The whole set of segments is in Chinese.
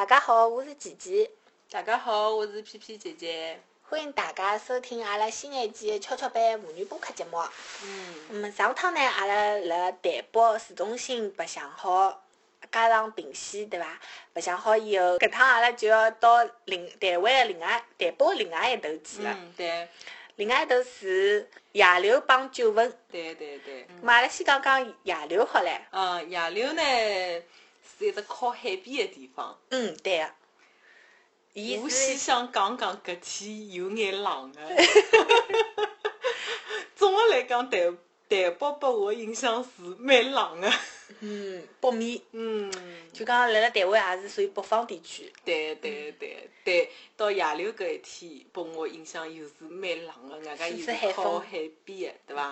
家好，我是琪琪。 大家好，我是皮皮姐姐。 欢迎大家收听阿拉新一季的跷跷板妇女播客节目。上趟呢，阿拉辣台北市中心白相好加上平西，对伐？白相好以后，搿趟阿拉就要到台北的另外一头去了。 对。 另外一头是野柳帮九份。 对。 咁阿拉先讲讲野柳好唻。 野柳呢是一只靠海边的地方。 对个。 我先想讲搿天有眼冷的。总的来讲，台北拨我印象是蛮冷的。 北面。就讲辣台湾也是属于北方地区。 对，到野柳搿一天，拨我印象又是蛮冷的，外加又是靠海边的，对伐？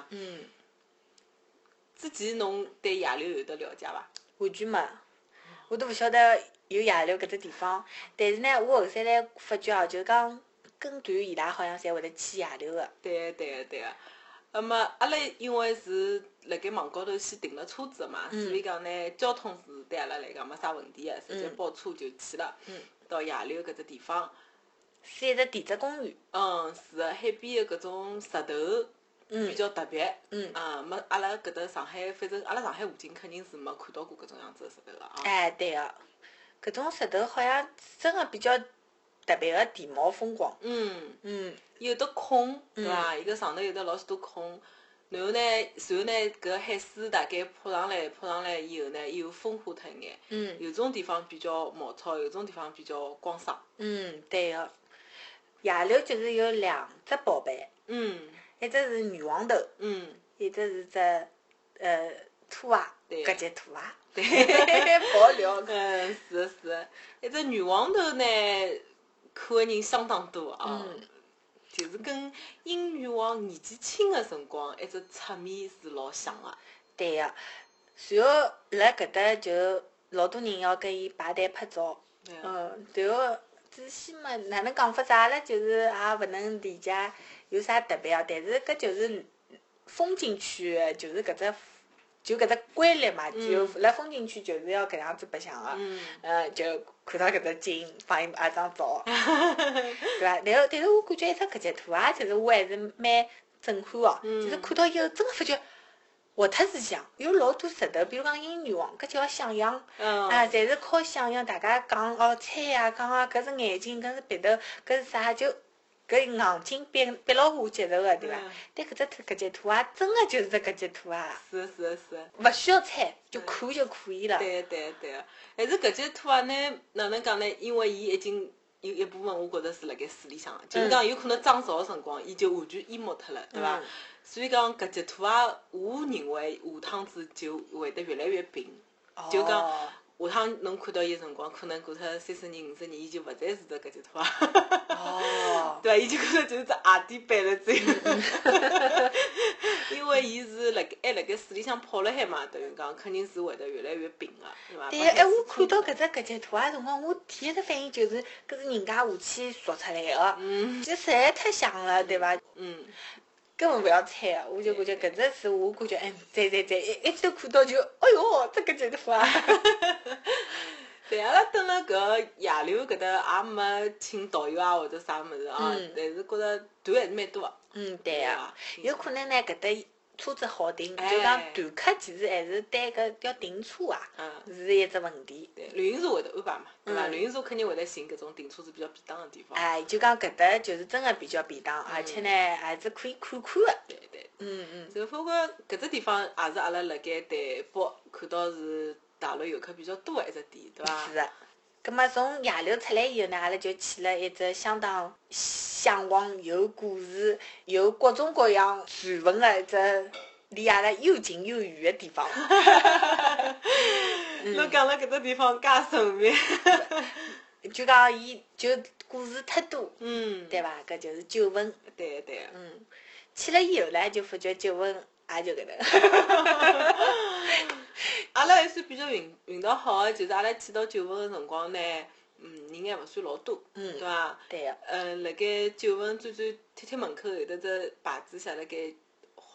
之前侬对野柳有得了解伐？ 完全没，我都勿晓得有野柳搿只地方。但是呢，我后头来发觉哦，就讲跟团伊拉好像侪会得去野柳个。 对个。那么阿拉因为是辣盖网高头先订了车子嘛，所以讲呢，交通是对阿拉来讲没啥问题的，直接包车就去了。到野柳搿只地方， 是一只地质公园。 是个海边的搿种石头。比较特别。没阿拉搿搭上海，反正阿拉上海附近肯定是没看到过搿种样子的石头个啊。 对个，搿种石头好像真个比较特别个地貌风光。 有得孔，对伐？伊个上头有得老许多孔，然后呢，搿海水大概泼上来以后呢，又风化脱一眼。有种地方比较毛糙，有种地方比较光爽。 对个。野柳就是有两只宝贝。一只是女王头，一只是只兔娃，搿只兔娃，爆料。 是个，一只女王头呢，看的人相当多啊。就是跟英女王年纪轻的辰光，一只侧面是老像的。 对个，随后辣搿搭就老多人要跟伊排队拍照。然后仔细嘛，哪能讲法子？阿拉就是也勿能理解有啥特别啊。但是搿就是风景区，就是搿只规律嘛。就辣风景区就是要搿样子白相个。就看到搿只景，帮伊拍张照，对伐？但是我感觉一只搿只图啊，就是我还是蛮震撼哦。就是看到以后，真个发觉活脱是像，有老多石头，比如讲英女王，搿叫想象。侪是靠想象。大家讲猜呀，讲搿是眼睛，搿是鼻头，搿是啥？就搿硬劲逼牢我接受个，对伐？但搿只图啊，真个就是搿只图啊。 是。 勿需要猜，就看就可以了。 对。但是搿只图啊呢，哪能讲呢？因为伊已经有一部分，我觉着是辣盖水里向，就是讲有可能涨潮个辰光，伊就完全淹没脱了，对伐？所以讲搿只图啊，我认为下趟子就会得越来越平。就讲下趟侬看到伊个辰光，可能过脱30年、50年，伊就勿再是搿只图啊。对伐？伊就可能就是只鞋底板了，只有。因为伊是还辣盖水里向泡了海嘛，等于讲肯定是会得越来越平个，对伐？ 对，我看到搿只图啊辰光，我第一只反应就是搿是人家下去塑出来个。就实在太像了，对伐？根本勿要猜个，我就感觉搿只是我感觉，在一记头看到就，哎哟，这搿只图啊！ 对，阿拉蹲辣搿野柳搿搭也没请导游啊或者啥物事啊，但是觉着团还是蛮多个。 对个，有可能呢搿搭车子好订，就讲团客其实还是对搿要订车啊，是一只问题。 对，旅行社会得安排嘛，对伐？旅行社肯定会得寻搿种订车子比较便当个地方。 就讲搿搭就是真个比较便当，而且呢还是可以看看个。 对。就反正搿只地方也是阿拉辣盖台北看到是大陆游客比较多个一只点，对伐？ 是个。葛末从野柳出来以后呢，阿拉就去了一只相当向往、有故事、有各种各样传闻个一只离阿拉又近又远个地方。 侬讲了搿只地方介神秘。 就讲伊就故事太多，对伐？搿就是九份。 对。 去了以后呢，就发觉九份也就搿能。 阿拉还算比较运道好个，就是阿拉去到九份个辰光呢，人还勿算老多，对伐？ 对个。 辣盖九份转贴门口有得只牌子写辣盖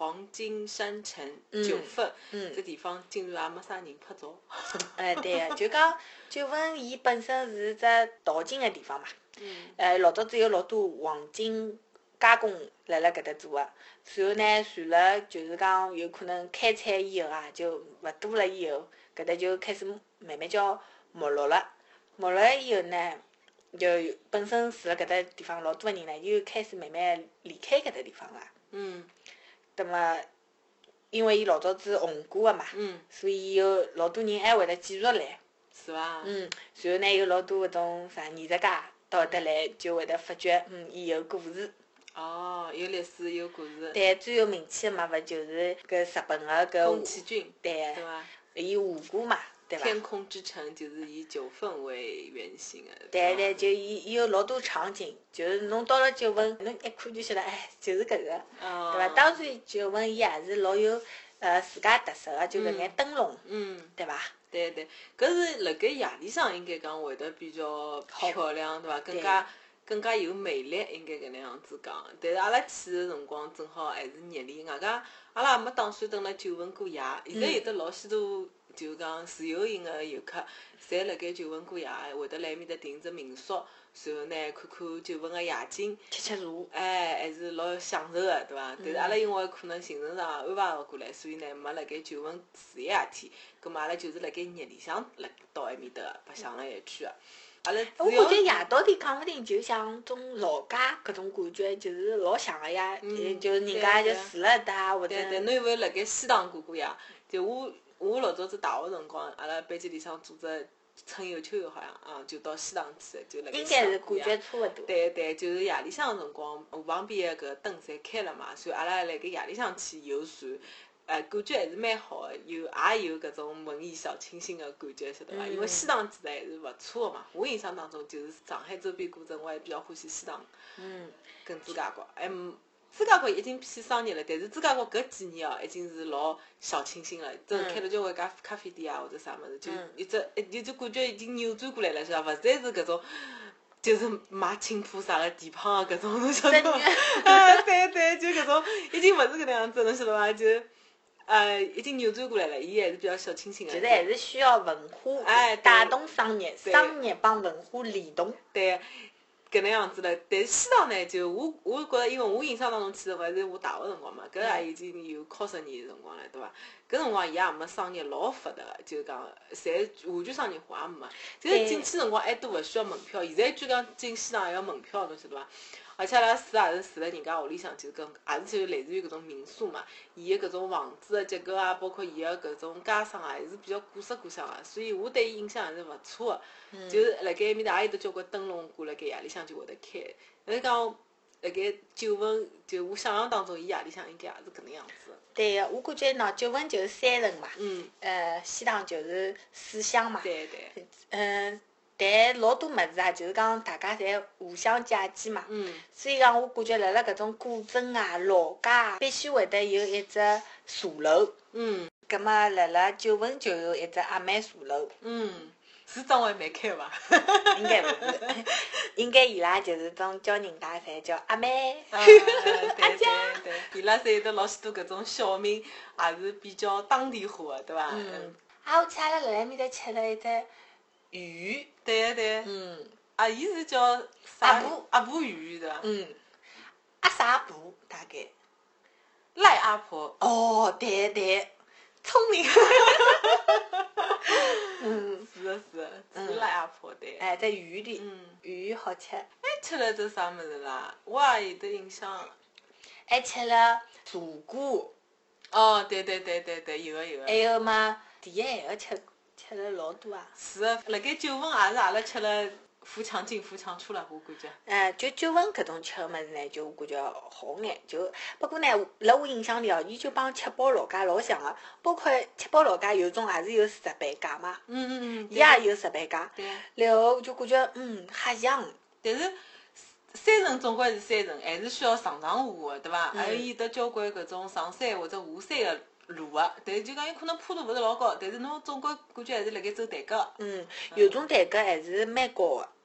黄金山城9份，这地方竟然也没啥人拍照。 对个，就讲九份伊本身是只淘金个地方嘛。老早子有老多黄金加工辣搿搭做个，随后呢，随了就是讲有可能开采以后啊，就勿多了以后，搿搭就开始慢慢叫没落了。没落了以后呢，就本身住辣搿搭地方老多个人呢，就开始慢慢离开搿搭地方了。葛末，因为伊老早子红过个嘛，所以有老多人还会得继续来。 是伐？ 随后呢，有老多搿种啥艺术家到搿搭来，就会得发觉，伊有故事。 有历史有故事。 对，最有名气个嘛，勿就是搿日本个搿宫崎骏， 对伐？ 伊画过嘛，对伐？ 天空之城就是以9份为原型个。 对，就伊有老多场景，就是侬到了九份，侬一看就晓得，就是搿个，对伐？当然，九份伊也是老有自家特色个，就搿眼灯笼，对伐？ 对，搿是辣盖夜里向应该讲会得比较漂亮，对伐？更加有魅力，应该搿能样子讲。但是阿拉去个辰光正好还是热里，外加阿拉也没打算蹲辣九份过夜。现在有得老许多就讲自由行个游客，侪辣盖九份过夜，会得来埃面搭订只民宿，随后呢看看九份个夜景， 吃茶， 还是老享受个，对伐？但是阿拉因为可能行程上安排勿过来，所以呢没辣盖九份住一夜天。葛末阿拉就是辣盖日里向到埃面搭白相了一圈个。阿拉我感觉夜到底讲勿定就像种老家搿种感觉，就是老像个呀。就人家就住辣搭或者。 对，侬有没有辣盖西塘过夜？就我老早子大学辰光，阿拉班级里向组织春游秋游，好像就到西塘去，就辣盖西塘过夜。 应该是感觉差勿多。 对，就是夜里向个辰光，河旁边个搿灯侪开了嘛，所以阿拉辣盖夜里向去游船。感觉还是蛮好个，也有搿种文艺小清新个感觉，晓得伐？因为西塘其实还是勿错个嘛。我印象当中就是上海周边古镇，我还比较欢喜西塘。跟朱家角，朱家角已经偏商业了，但是朱家角搿几年已经是老小清新了，真开了交关咖啡店啊或者啥物事，就感觉已经扭转过来了，晓得伐？勿再是搿种。就是卖青浦啥个地胖个搿种，侬晓得伐？对，就搿种已经勿是搿能样子，侬晓得伐？就已经扭转过来了，伊还是比较小清新个。 就是还是需要文化带动商业，商业帮文化联动。 对，搿能样子了。但是西塘呢，就我觉着，因为我印象当中去的还是我大学辰光嘛，搿也已经有靠10年辰光了，对伐？搿辰光伊也没商业老发达个，就是讲侪完全商业化也没。就是进去辰光还都勿需要门票，现在据讲进西塘还要门票，侬晓得伐？而且阿拉住也是住辣人家屋里向，就也是就类似于搿种民宿嘛。伊个搿种房子个结构啊，包括伊个搿种家商啊，还是比较古色古香个，所以我对伊印象还是勿错个。就是辣盖埃面搭也有得交关灯笼挂辣盖夜里向就会得开。但是讲辣盖九份，就我想象当中，伊夜里向应该也是搿能样子。 对个，我感觉喏，九份就是山城嘛，西塘就是水乡嘛。 对。 但老多物事啊，就是讲大家侪互相借鉴嘛。所以讲，我感觉辣搿种古镇啊、老家啊，必须会得有一只茶楼。葛末辣九份就有一只阿妹茶楼。 是张惠妹开伐？ 应该勿是，应该伊拉就是种叫人家侪叫阿妹。 对，伊拉侪有得老许多搿种小名，也是比较当地化个，对伐？ 我记阿拉辣埃面搭吃了一只鱼。 对。伊是叫啥？阿婆鱼对伐？ 阿啥婆大概。 赖阿婆。 哦，对，聪明。 是赖阿婆对。 在鱼里。鱼好吃。 还吃了只啥物事啦？我也有得印象。 还吃了茶果。 哦，对，有个。 还有嘛，第一还要吃了老多啊。 是个，辣盖九份也是阿拉吃了富强进富强出了，我感觉。 就九份搿种吃个物事呢，就我感觉好眼。不过呢，辣我印象里伊就帮七宝老街老像个，包括七宝老街有种也是有石板街嘛。伊也有石板街。 对。 然后就感觉瞎像。 但是山城总归是山城，还是需要上下个，对伐？还有得交关搿种上山或者下山个路个，但是就讲有可能坡度勿是老高，但是侬总归感觉还是辣盖走台阶。 有种台阶还是蛮高个，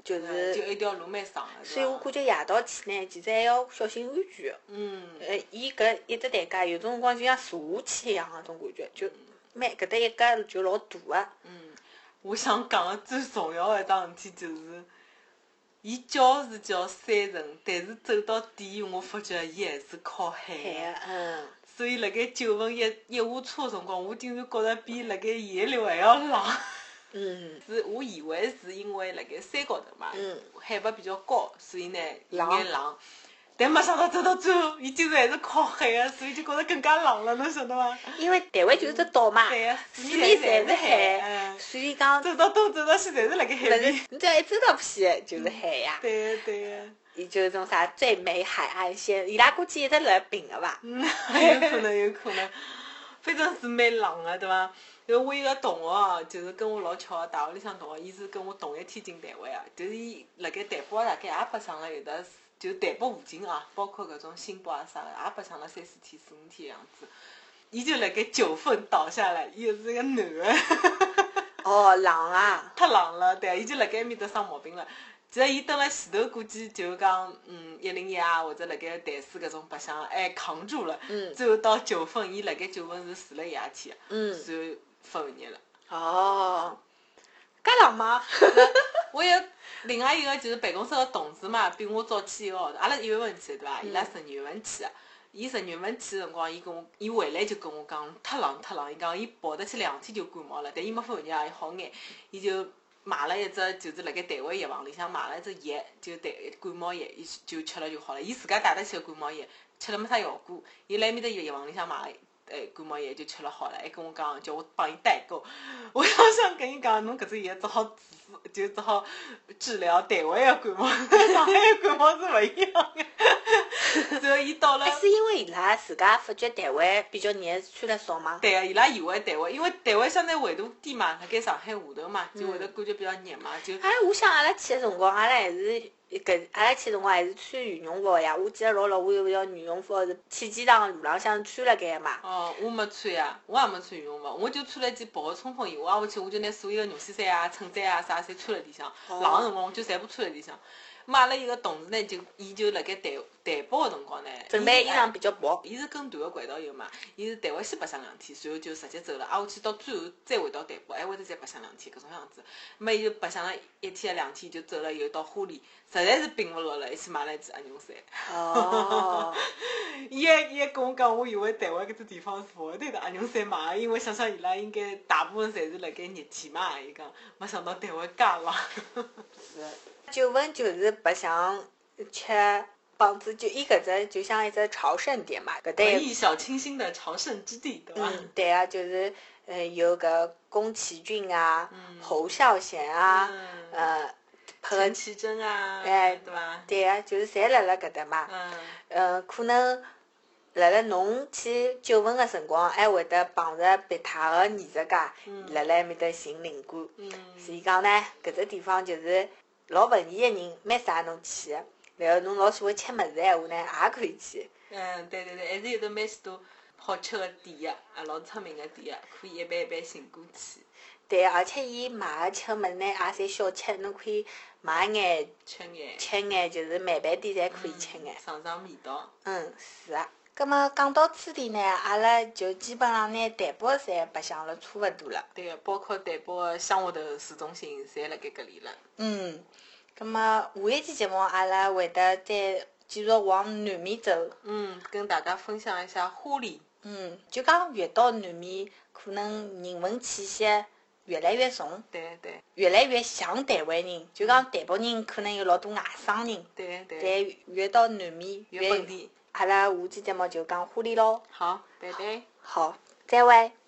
就是就一条路蛮长的， 所以我感觉夜到去呢，其实还要小心安全。伊搿一只台阶有种辰光就像坐下去一样个种感觉，就搿搭一格就老大个。 我想讲个最重要个一桩事体就是，伊叫是叫山城，但是走到底，我发觉伊还是靠海个。 所以辣盖九份一下车个辰光，我竟然觉着比辣盖沿流还要冷。是我以为是因为辣盖山高头嘛，海拔比较高，所以呢有眼冷。但没想到走到最后，伊竟然还是靠海个，所以就觉着更加冷了，侬晓得伐？ 因为台湾就是只岛嘛，四面侪是海，所以讲走到东走到西侪是辣盖海边。 你只要一走到偏就是海呀。 对个。 伊就是种啥最美海岸线，伊拉估计一直辣并个伐？ 有可能，反正是蛮冷个，对伐？因为我一个同学就是跟我老巧个大学里向同学，伊是跟我同一天进台湾个，就是伊辣盖台北大概也白相了有的，就台北附近啊，包括搿种新北啊啥个，也白相了3、4天、4、5天样子。伊就辣盖9份倒下来，伊是个男个。 哦，冷啊！ 太冷了，对，伊就辣盖埃面搭生毛病了。其实伊蹲辣前头，估计就讲101啊，或者辣盖台水搿种白相，还扛住了。最后到9份，伊辣盖9份是住了一夜天个，然后发寒热了。 哦，介冷吗？ 我有另外一个就是办公室个同事嘛，比我早去1个号头。阿拉1月份去对伐？伊拉12月份去个。伊12月份去个辰光，伊回来就跟我讲，太冷。伊讲伊跑得去2天就感冒了，但伊没发寒热也好眼，伊就买了一只，就是辣盖台湾药房里向买了一只药，就感冒药，伊就吃了就好了。伊自家带得起个感冒药，吃了没啥效果。伊辣埃面搭药房里向买感冒药就吃了好了，还跟我讲叫我帮伊代购。我想跟伊讲，侬搿只药只好治疗台湾个感冒，上海个感冒是勿一样个。然后伊到了， 是因为伊拉自家发觉台湾比较热，穿了少吗？ 对个，伊拉以为台湾，因为台湾相对纬度低嘛，辣盖上海下头嘛，就会得感觉比较热嘛，就。 我想阿拉去个辰光，阿拉还是阿拉去辰光还是穿羽绒服呀。我记得老我有一条羽绒服是去机场路浪向穿辣盖个嘛。 哦，我没穿呀，我也没穿羽绒服，我就穿了一件薄个冲锋衣。我回去我就拿所有个绒线衫啊、衬衫啊啥侪穿辣里向，冷个辰光我就全部穿辣里向。阿拉一个同事呢，伊就辣盖台北个辰光呢， 准备衣裳比较薄。 伊是跟团个轨道游嘛，伊是台湾先白相2天，然后就直接走了。下去到最后再回到台北，还会得再白相2天，搿种样子。伊就白相了1天2天就走了，又到花莲，实在是并勿落了，一起买了一件鸭绒衫。 哦。 伊还跟我讲，我以为台湾搿只地方是勿会得鸭绒衫买，因为想伊拉应该大部分侪是辣盖热天嘛。伊讲，没想到台湾介冷。 是。9份就是白相吃棒子，就伊搿只就像一只朝圣点嘛，搿搭文艺小清新的朝圣之地，对伐？ 对啊，就是有搿宫崎骏啊、侯孝贤啊、 陈绮贞啊， 对伐？ 对啊，就是侪辣搿搭嘛。可能辣侬去9份个辰光，还会得碰着别他个艺术家辣埃面搭寻灵感。所以讲呢，搿只地方就是老文艺个人，蛮适合侬去个。然后侬老喜欢吃物事闲话呢，也可以去。 对，还是有得蛮许多好吃个店个，老出名个店个，可以一般寻过去。 对，而且伊卖个吃物事呢，也侪小吃，侬可以买眼吃眼，就是慢饭店侪可以吃眼， 尝味道。 是啊。葛末讲到此地呢，阿拉就基本上拿台北侪白相了差勿多了。 对个，包括台北个乡下头市中心，侪辣盖搿里了。 葛末下一期节目阿拉会得再继续往南面走。 跟大家分享一下花莲。 就讲越到南面，可能人文气息越来越重。 对。 越来越像台湾人，就讲台北人可能有老多外省人。 对。 但越到南面越本地。 阿拉下期节目就讲花莲咯。 好，拜拜。 好，再会。